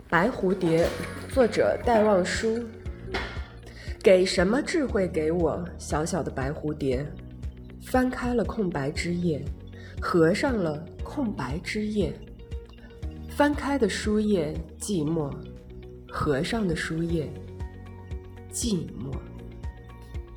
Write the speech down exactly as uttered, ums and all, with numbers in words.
白蝴蝶，作者戴望舒。给什么智慧给我，小小的白蝴蝶？翻开了空白之页，合上了空白之页。翻开的书页寂寞，合上的书页寂寞。